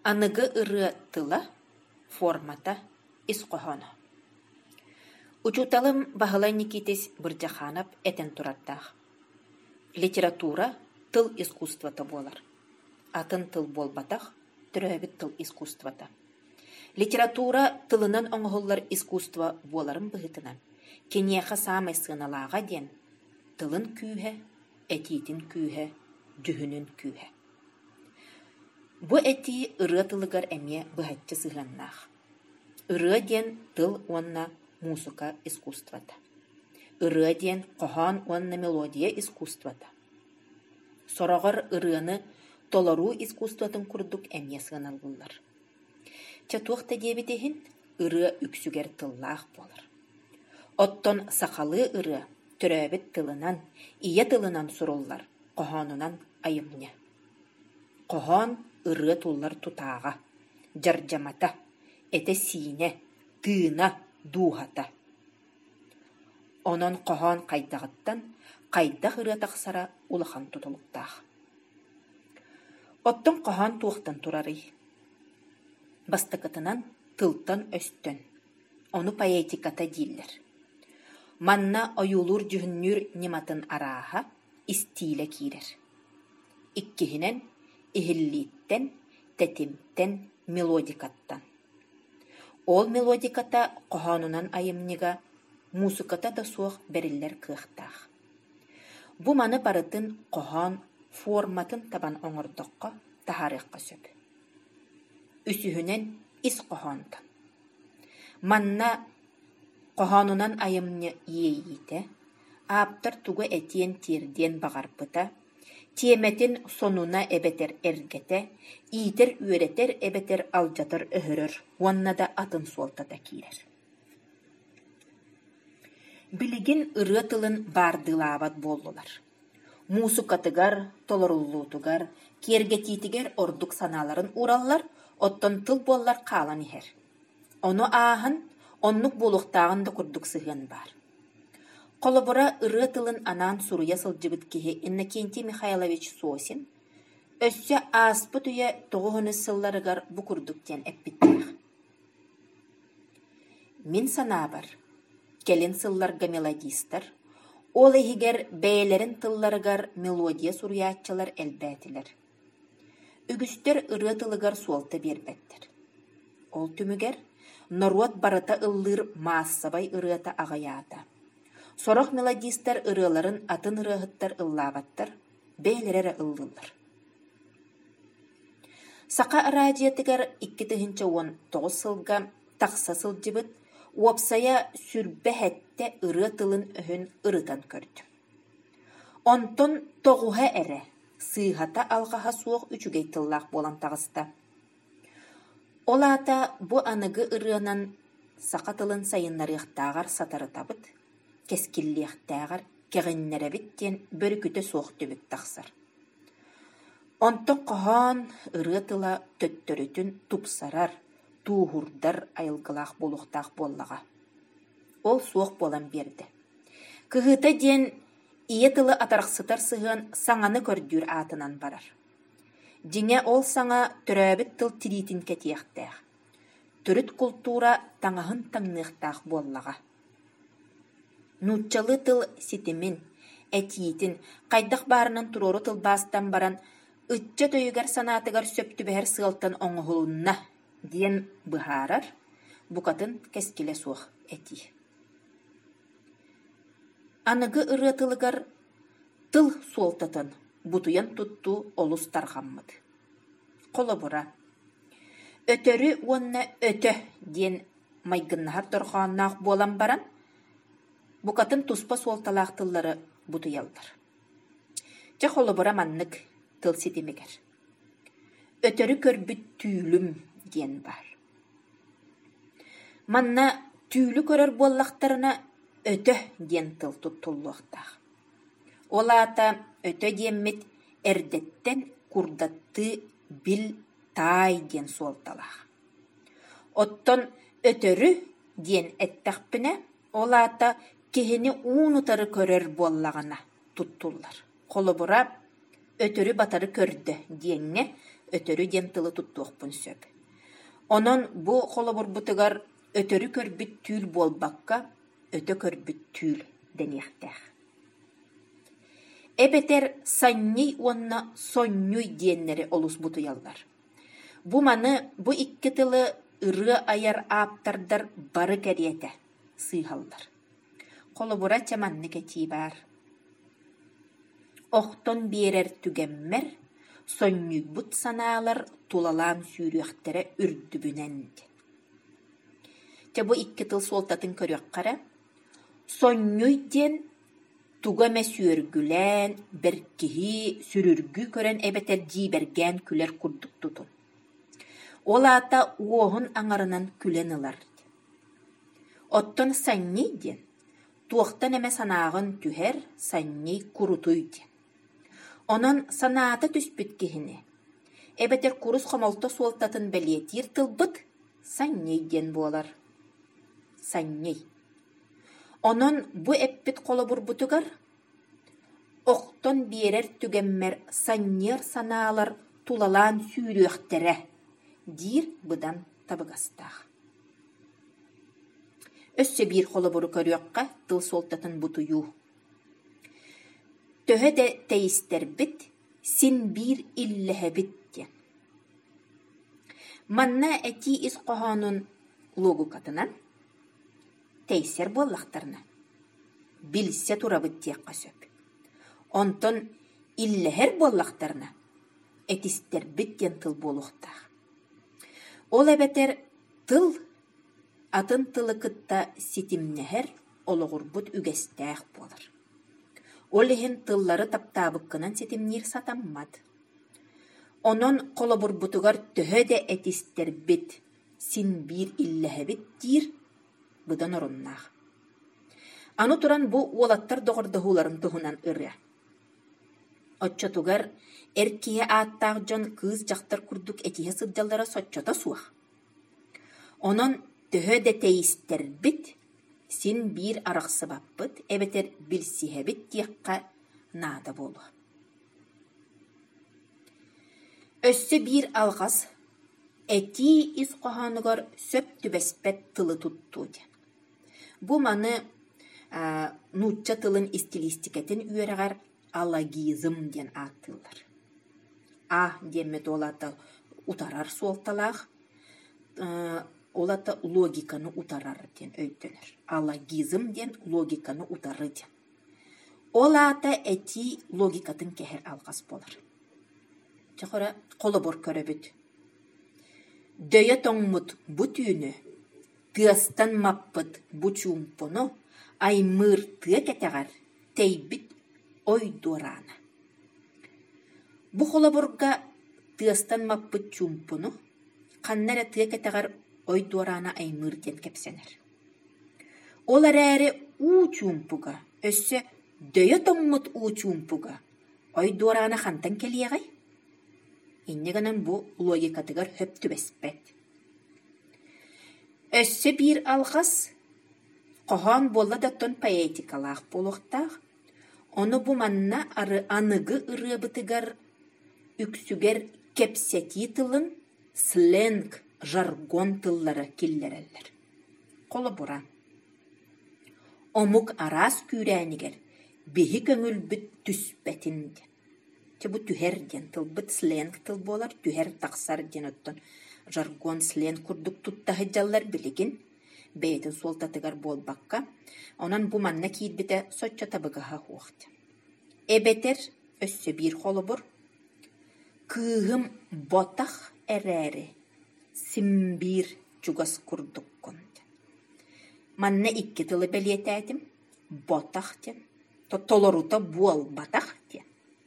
Анығы ыры тыла формата исқохоно. Учуталым бағылай Никитис Бырджаханов этен тураттақ. Литература тыл искусствата болар. Атын тыл болбатақ, түрәбіт тыл искусствата. Литература тылынан оңғылар искусства боларын бұғытынан. Кенеха самай сыналаға ден тылын күйе, этитин күйе, дүхінін күйе. Бу эти ыры тылыгар әме бұғатчы сығаннақ. Ыры ден тыл онна музыка искусствата. Ыры ден қохан онна мелодия искусствата. Сорағыр ырыны толару искусстватын күрдік әме сығаналғылар. Чатуақта дебетехін ыры үксүгер тыллақ болар. Оттон сақалы ыры түрәбіт тылынан, ие тылынан сұрулар, қоханынан айымне. Қохан ыры туллар тутаға, жаржамата, эте сине, тыына, дуғата. Онон қохан қайдағыттан, қайдақ ыры тақсара улахан тутылықтақ. Оттон қохан туықтан турары. Бастықытынан тылтан өстін. Оны поэтиката дейлер. Манна ойулур жүхіннүр нематын араға истиле кирер. Иккихинен ихиллиттен, тетимтен, мелодикаттан. Ол мелодиката қоханунан айымнега музыката да суық берілер кықтақ. Бу маны барытын қохан форматын табан оңырдыққа тахарыққа сөп. Үсүхінен ис қохантан. Манна қоханунан айымны ейіті, аптар туғы әтен терден бағарпыта, теметин сонуна эбетер эргете, ийтер үеретер эбетер алжатыр өһөрөр, уанна да атын суолтата кирер. Билигин ыры тылын бардылават боллулар. Мусукатыгар, толоруллутугар, кергетитигер ордук саналарын ураллар, оттон тыл боллар калан ихер. Ону аахын, оннук болуқтағын да курдук сыгын бар. Колобура ыры тылын анан суруя сылжыбыт кихи Иннокентий Михайлович Сосин, өссө аспы түйе тоғыны сылларыгар бу курдуктен эппиттех. Мин санабар, келин сылларга мелодистар, ол ихигер бәйлерин тылларыгар мелодия суруячылар элбәтилер. Үгүстер ыры тылыгар суолта бербеттер. Ол түмүгер Норуат барыта ыллыр массабай ырыата ағаята. Сорох мелодистер ырыларын атын ырыхыттар ыллабаттар, бәйлерері ыллылар. Сақа радиятыгар 2019 сылга тақса сылжыбыт, уапсая сүрбе хәтте ыры тылын өһін ырытан көрді. Онтон тоғуға әрі, сыйхата алғаға суық үчүгей тыллақ болан тағыста. Олата бу анығы ырыанан сақатылын сайыннарықтағар сатары табыт, кескиллиқтағар кеғіннеребіттен бір күті соқты бүт тақсар. Онтон қоған ырыатыла төттөрүтін тупсарар, туғырдар айылғылақ болуқтақ боллаға. Ол соқ болан берді. Кығыта ден ие тылы атарықсытар сығын саңаны көрдүр атынан барар. Диңе ол саңа түрәбіт тыл тиритин кәтияқтақ. Түріт культура таңағын таңнықтақ боллаға. Нутчалы тыл ситимин, әтиетин, қайдақ барынан турору тыл бастан баран, үтчі төйігер санатыгар сөпті бәр сығылтан оңғылынна, диен бұхарар, бұқатын кәскеле суық әти. Анығы ыры тылыгар тыл суолтатын, бутуян тутту олус тарғаммыд. Қолыбыра. Өтөрі онна өтө ден майгыннахар торғаннақ болан баран, бұқатын туспа суолталақ тыллары бутуялдар. Жа қолыбыра маннық тыл сетемегер. Өтөрі көрбіт түйілім ден бар. Манна түйілі көрір боллақтарына өтө ден тыл туттулуқтақ. Олата өтө диэммит эрдеттен курдатты бил тай ден суолталах. Оттон өтөрү ден эттақпіне олата кехини уунутары көрөр боллагана туттуллар. Холобура өтөрү батары көрді диэнне өтөрү ден тылы туттуохпун сөп. Онон бу холобурбутугар өтөрү көрбүт түүл болбакка өтө көрбүт түүл денехтэх. Эбетер санней уонна соннуй диеннери олусбуту яллар. Бу маны бу икки тылы ыры аяр ааптардар бары кэриэтэ сыйхаллар. Холобура чаманны кэтии бар. Охтон биэрэр түгэммэр соннуйбут санаалар тулалаан сүүрүөхтэрэ үрдүбүнэн. Бу икки тыл суолтатын көрүөххара соннуй диэн тугаме сүөргүлэн беркиһи сүрүргү көрөн эбетер дииберген күлэр курдуктутун. Олаата уоһун аңарынан күлен ылар. Оттон санней диэн туохтан эме санаагын түһэр санней курутуй диэн. Онон санаата түспүт киһини эбетер курус хомолто суолтатын белиэтиир тылбыт санней диэн буолар. Санней. Онон бу эппит холобурбутугар охтон биэрэр түгэммэр саннер санаалар тулалаан сүүрүөхтэрэ диир быдан табыгастаах. Өссө биир холобуру көрүөхқа тыл суолтатын бутуйуу. Төһө де тэйистербит син биир иллэһэбит диэн. Манна эти ис қоһоонун логукатынан тэйсер буоллахтарна билсе турабыт диэхха сөп. Онтон иллэһэр буоллахтарна этистербит диэн тыл буолуохтаах. Ол эбетер тыл атын тылы кытта ситимнэһэр ологурбут үгэстээх буолар. Ол иһин тыллары таптаабыккынан ситимниир сатаммат. Онон холобурбутугар төһө де этистербит син биир иллэһэбит диир быдан оруннаах. Ану туран бу уолаттар доҕордоһууларын туһунан ырыа. Отчотугар эркие ааттаах дьон кыыс дьахтар курдук этиһэ сылдьаллара соччота суах. Онон төһө де тэйистербит син биир арахсыбаппыт эбетер билсиһэбит диэхха наада буолуа. Өссө биир алҕас эти ис қоһоонугар сөп түбэспэт тылы туттуу. Бу маны нуучча тылын стилистикатын үөрэгэр аллагизм диэн ааттылар. Диэммет олата утарар суолталаах, олата логиканы утарар диэн өйдөнөр. Аллагизм диэн логиканы утары диэн. Олата эти логикатын кэхэр алгас болар. Чахора холобор көрөбүт. Дөйө тоңмут бу түүнү, тыастан маппыт бу чуумпону, аймыр тыа кетегар, тейбит ой дуорана. Бу холоборга тыастан маппыт чуумпону, каннара тыа кетегар ой дуорана аймыр ден кепсенер. Олар әрі уу чуумпуга, өссө дөйө тоңмут уу чуумпуга, ой дуорана хантан келиегай. Иннеганан бу логикатыгар хөп түбеспет. Өссө биир алгас қоһоон болла даттон поэтикалаах болуохтаах, ону бу манна аныгы ырыабытыгар үксүгер кепсети тылын сленг, жаргон тыллары киллереллер. Колобура. Омук арас күрәнигер биһи көңүлбүт түспетинде. Бу түһэр диэн тылбыт сленг тыл болар, түһэр тахсар диэн оттон жаргон сленг курдук туттаһы жаллар билигин бэйэтин суолтатыгар болбакка, онан бу манна киирбите соччо табыгаһа хуохта. Эбетер өссө биир холобур кыыһым ботах эрээри симбир чугас курдуккун. Манна икки тылы белиэтээдим ботах диэн, толорута буол батах диэн.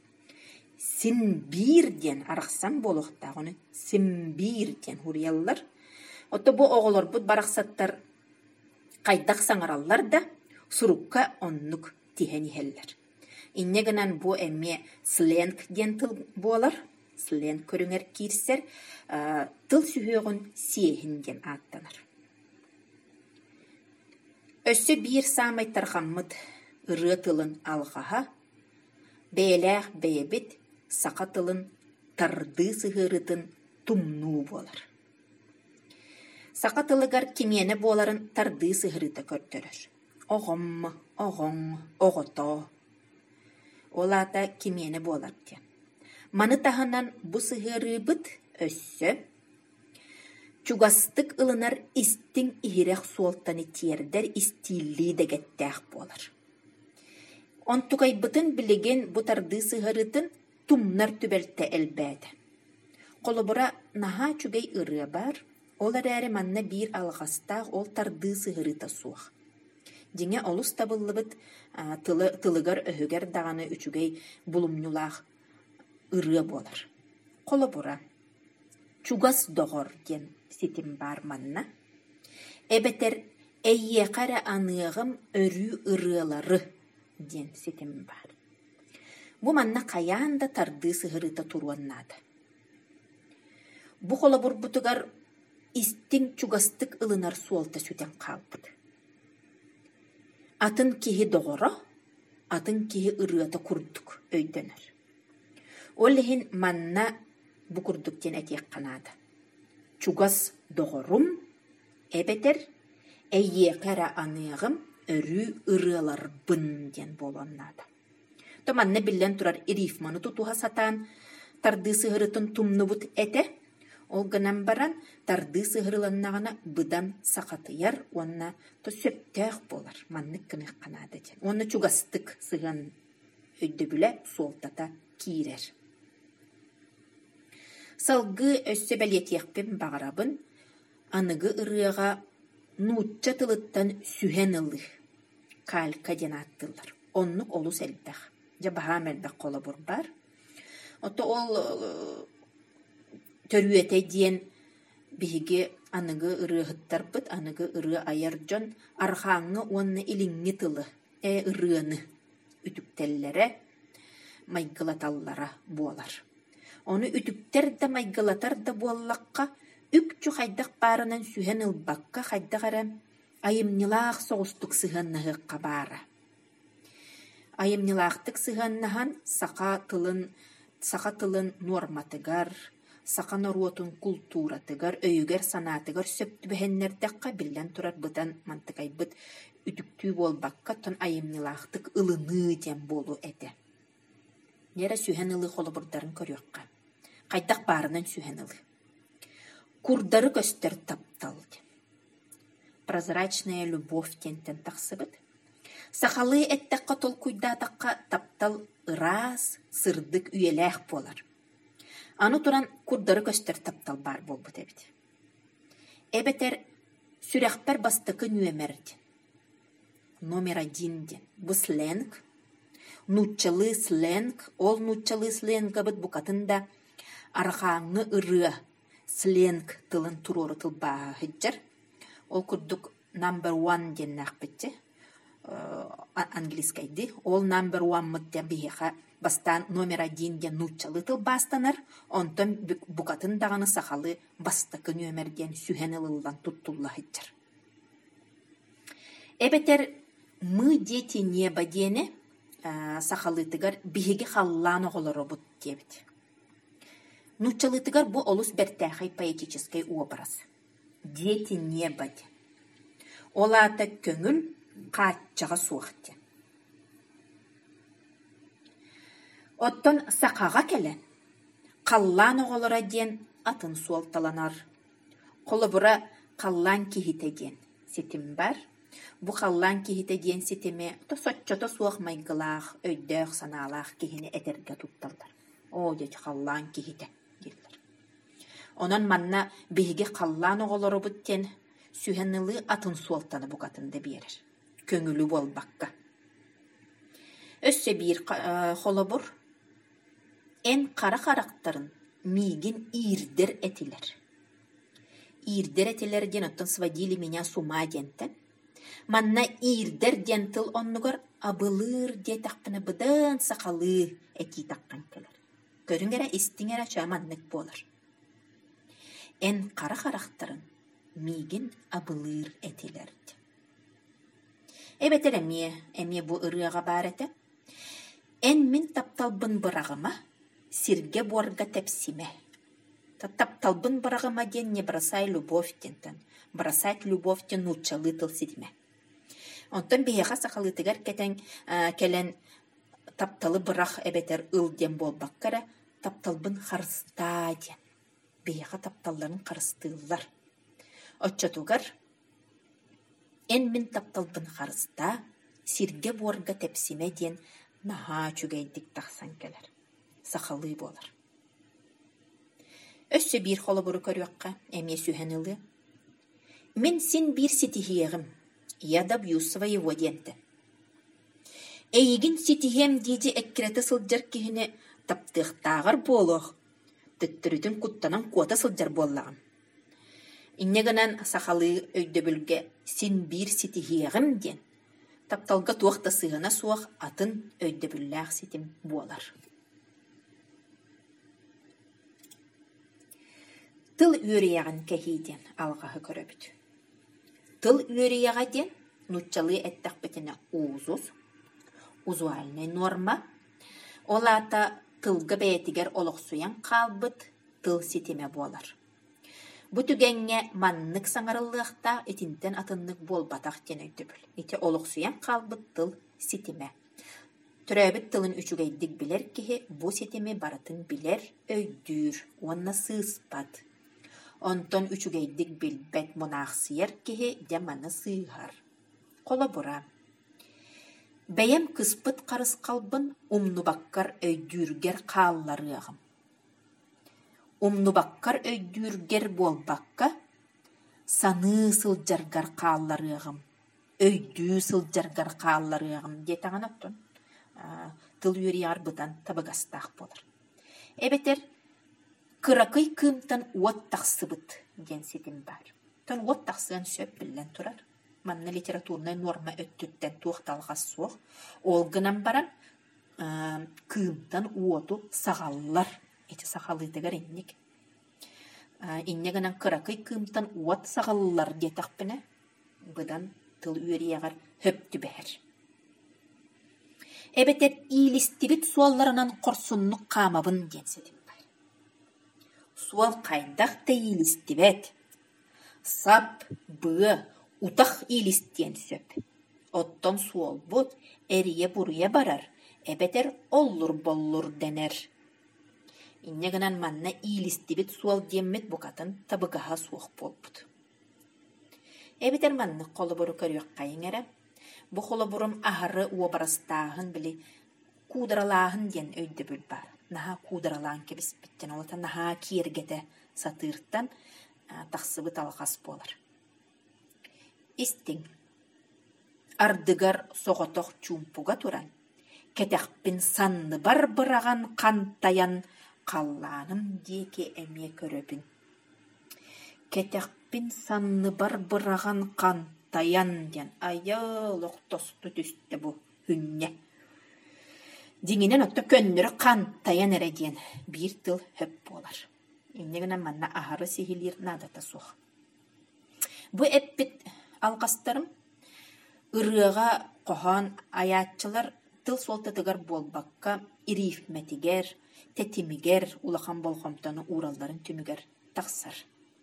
Симбир диэн арахсан болохтаагыны симбир диэн хурияллар. Отто бу оголор бут барахсаттар кайдах саңараллар да сурукка оннук тиһэнихеллер. Иннегенен бу эмме сленг диэн тыл буолар. Сленг көрүңер кирсер тыл сүһөөгүн сиэһин диэн ааттанар. Өссө биир саамайттар хаммыт ырыа тылын алгаһа, бээлээх бэйэбит сақа тылын тарды сыгырытын тумну болар. Сақатылыгар кимене боларын тарды сыгырыта көртөрөр. Оғым, оғың, оғото. Олата кимене болар те. Маны таханан бу сыгырыбыт өссө. Чугастык ылынар истин ихирек суолтаны тиердер истилли дегеттәк болар. Онтугайбытын билеген бу тарды сыгырытын тумнар түбелте элбәді. Қолыбыра наха чугай ыры бар, олар әрі манна бир алғастақ ол тарды сыгырыта суақ. Деңе олус табылыбыт тылыгар өһігер дағаны үчүгей булумнулақ ыры болар. Қолыбыра чугас доғыр ген сетим бар манна. Эбетер эйеқара анығым өрі ырылары ден сетим бар. Бу манна каяанда тарды сыгырыта туруаннады. Бу қолабур бутугар истин чугастык ылынар суолта сүтен қалбыды. Атын кихи доғыра, атын кихи ырыата курдук өйдөнөр. Оллихин манна бу курдуктен әтек қанады. Чугас доғырум, эбетер эйеқара анығым өрі ырылар бын ден болоннады. Томанна биллен турар ирифманы тутуха сатан тарды сыгырытын тумнубут эте, ол гынан баран тарды сыгырыланнағына быдан сақатыяр, онна то сөптәқ болар, маннык кынык қанады ден. Онна чугастык сыган өйді бүлі суолтата киирер. Салгы өссө бәлетияқпен бағарабын, анығы ырыға нуутча тылыттан сүхен ылы, калька ден аттылар. Оннук олус әлбәқ. Жабаға мәлбәк қолы бұр бар. Ото ол төрүете диен биһиги аныгы ырыһыттар быт, аныгы ыры аяр жон архаңы онны илиңни тылы, ырыны үтүктеллере майгылаталлара буолар. Оны үтүктер да майгылатар да буоллаққа үкчү хайдақ барынан сүхен ылбаққа хайдағара айымнилаақ соғыстық сыһыннығыққа бара. Айымнилаақтык сыһаннаһан сақа тылын норматыгар, сақа норуотун культуратыгар, өйүгер санатыгар сөптүбэһэннердэхха биллэн турар бытан мантыгайбыт үтүктүү болбакка тон айымнилаақтык ылыны дем болу эте. Нера сүһэн ылы холобурдарын көрүөкка. Хайдах баарынан сүһэн ылы. Курдары көстөр таптал. Прозрачная любовь тентен тахсыбыт. Сахалы эттәкка тол куйдатакка таптал ырас, сырдык үйеләх болар. Аны туран курдары көстөр таптал бар болбут эбит. Эбетер сүрәхпер бастыкы нөмерди. Номер 1 ден. Бу сленг. Нуччалы сленг. Ол нуччалы сленга бит букатында архаңы ыры сленг тылын туроры тыл баһыджар. Ол курдук number 1 ден нахбитте. Английскайди. Ол number 1 мыттен бихеха бастан номер 1 ден нуччалы тыл бастанар. Онтон букатын дағаны сахалы бастыкы нөмерден сүхен ылылдан туттуллахыджар. Эбетер мы дети неба дене сахалытыгар бихеге халланы голоро бут дебит. Нуччалытыгар бу олус бертәхай поэтический образ. Дети неба де. Олата көңүл каатчага суакте. Оттон сакага келен қаллан оголора ден атын суалталанар. Колобура қаллан кихите ден сетим бар. Бу қаллан кихите ден сетиме то соччото суак майгылах, өйдөк саналах кихини этерге тутталдар. О дечи қаллан кихите дерлер. Онан манна биһиге қаллан оголору буттен сүхеннылы атын суалтаны букатында берер. Көңүлү болбакка. Өссө бир холобур эн кара карактарын мигин ирдер этилер. Ирдер этилер ден оттон сводили меня с ума дентен. Манна ирдер дентыл оннугар абылыр де тақпына быдан сақалы эти таққан келер. Көрүнгерэ истиңерэ чаманнык болар. Эн кара карактарын мигин абылыр этилерди. Эбетер эмие бу ырыага барете. Эн мин тапталбын бырагыма сирге борга тепсиме. Тапталбын барагыма ден не бросай любовь тентен. Бросать любовь тен нучалы тыл сидиме. Онтон бейеға сақалытыгар келен тапталы бырах эбетер ыл ден болбаққара тапталбын харыста ден. Бейеға тапталларын қарыстылар. Отчатугар эн мен тапталбын харыста сирге борга тепсиме ден наха чүгейдік тақсан келер. Сақалы болар. Өссө бир холы буру көрүөкка эмие сүйенылы. Мен син бир ситихиегим, яда бью своего денте. Эйгин ситихем диди эккиреті сылджар кихіне таптықтағыр болух, түттірітін куттанан куота сылджар боллағым. Иннегінен сақалы өйдөбілге син бир ситихиегим ден, тапталға туақта сығына суақ атын өйдөбілләқ ситим болар. Тыл үйрияған кәхейден алғағы көрөбіт. Тыл үйрияға ден нұтчалы әттақ бітіне уузуз, узуальный норма. Олата тылғы бәйтігер олықсуян қалбыт тыл сетеме болар. Бұтүгенге маннық саңарылықта етінтен атынлық болбатақ ден өйдібіл. Ете олықсуян қалбыт тыл сетеме. Түрәбіт тылын үчүгейдік білер кеге бұ сетеме баратын білер өйдүр, онна сыспад. Онтон үчүгейдік билбет монақсыйар кеге деманы сыйғар. Қола бұра. Бәйем кыспыт қарыс қалбын умнубаққар өйдүргер қалларығым. Умнубаққар өйдүргер болбаққа саны сылджаргар қалларығым. Өйдү сылджаргар қалларығым. Детаңан оттон. Тыл үйрі арбыдан табығастақ болар. Эбетер кыракый кымтан уот тақсыбыт ден сетім бар. Тон уот тақсыған сөп білен тұрар. Манна литературная норма өттүттен туқталғас соқ. Ол гынан баран кымтан уоту сағаллар. Эти сағалытыгар иннек. Иннегінен кыракый кымтан уот сағаллар детақ біне. Бұдан тыл үйрияғар хөпті бәр. Эбетер ийлистибит суалларынан қорсуннық қамабын ден сетім. Суал қайдақ та ийлистибет. Сап, бұғы, утақ ийлистен сөп. Оттон суал бұд, әрие бұрыя барар. Эбетер оллур-боллур денер. Иннегінен манна ийлистибит суал деммет бұқатын табығаға суық бол бұд. Эбетер манны қолы бұры көріөк қайын әрі. Бұ қолы бұрым ағыры уабарастағын білі кударалағын ден өйді бүл бар. Наха кударалағын кебіс біттен олата наха кергеті сатырттан тақсыбы талғас болар. Истің, ардыгар соғытоқ чумпуға туран, кетекпін санны бар бұраған қантаян қалланым деке әме көрөбін. Кетекпін санны бар бұраған қантаян ден айылық тосты түсті бұ хүнне. Деңінен отты көннірі қантаян әрәден бір тыл хөп болар. Иннегінен манна ағары сихилер надата соқ. Бұ әппет алғастарым ұрыға қоған аятчылар тыл солтатығар болбаққа ирифметігер, тәтімігер, улақан болғамтаны уралдарын түмігер тақсар.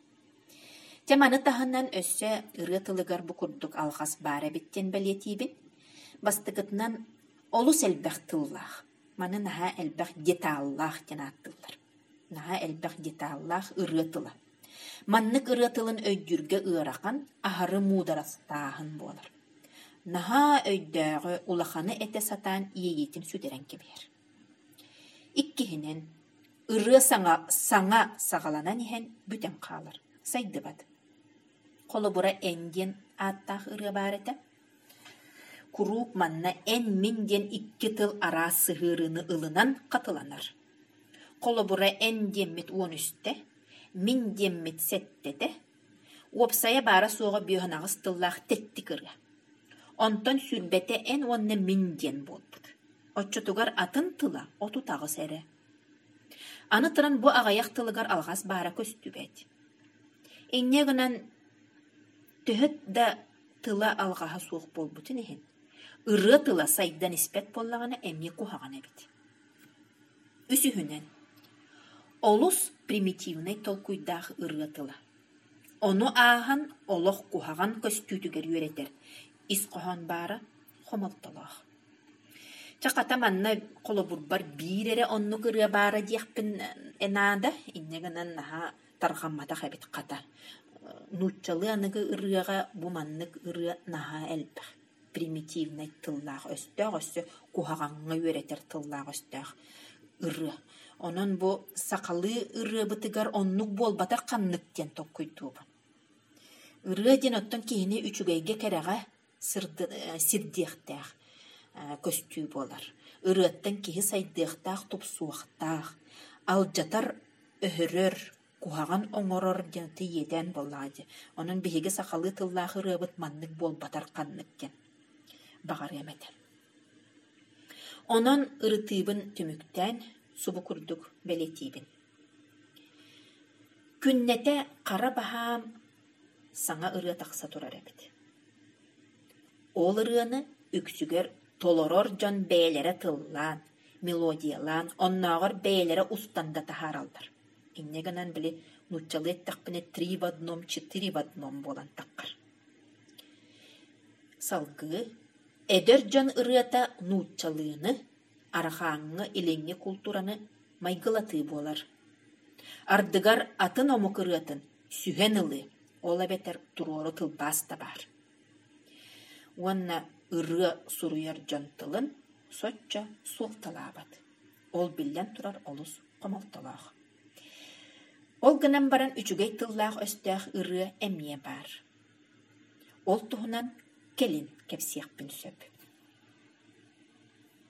Теманы тағынан өссі ұры тылығар бұ күрдік алғас бары біттен бәлетейбін, бастығытынан олус әлбәқ тыллақ. Маны наға әлбәқ деталлақ ден аттылар. Наға әлбәқ деталлақ ұры тылы. Маннық ұры тылын өйдүрге ұйрақан ағары мударастағын болар. Наға өйдәғі улақаны әте сатан иегетін сүдерен кебер. Иккihinen ыры саңа сағаланан ехен бүтен қалыр. Сайды бад. Қолы бұра әнден аттақ ыры бар еті. Куруп манна эн минден 2 тыл ара сығырыны ылынан қатыланар. Қолы бұра эн деммет 13-те, мин деммет 7-те, опсая бара соға бүйханағыз тыллақ тетті кырға. Онтон сүрбете эн онны минден болбуд. Отчутугар атын тыла, оту тағыз әрі. Аны тыран бұ ағаяқ тылыгар алғас бара көстүбет. Эннегінен түхіт да тыла алғаға суық болбутын ехен. Ыры тыла сайдан іспет боллағаны әмне кухағаны бет. Үсіхінен Олус примитивный толкуйдах ырыатыла. Ону аахан олох кухаган көстүтүгер үеретер. Ис кохан бара хомалталах. Чаката манна колобурбар бирере онну кырыя бара диэхпин энада иннегенен наха тархаммата хабит ката. Нуччалы аныгы ырыага бу маннык ырыя наха элбэх. Примитивный тыллах өстө кухаганга үеретер тыллах өстөг ыры. Онон бу сакалы ыры бытыгар оннук болбатар канныктен токкуйтуба. Ыры ден оттон кийини үчүгейге керега сирдиэхтэх көстүү болар. Ырыаттан киһи сайдыахтаах тупсуахтаах, алжатар өһөрөр, кухаган оҥорор дьанты иедэн боллаади. Онон биһиги сакалы тыллаах ырыабыт маннык болбатар канныктен багар эметер. Онон ырытыыбын түмүктэн субу курдук белетиибин. Күннете кара баһаам саңа ырыа тахса турар эбит. Ол ырыаны үксүгер толорор дьон бээлере тыллаан, мелодиялаан, онноогор бээлере устанда тахаралдар. Иннегенен били нуччалы эттахпине 3 в 1, 4 в 1 болан таккар. Салгы, эдер дьон ырыата нуччалыыны, арахааңы илеңге культураны майгылаты болар. Ардыгар атын омук ырыатын сүһен ылы, ола бетер турору тылбас да бар. Уанна ыры суруяр жантылын сочча суолталаабат. Ол биллен турар олус комалталаах. Ол гынан баран үчүгей тыллаах өстөөх ыры эмие бар. Ол туһунан келин кепсиэхпин сөп.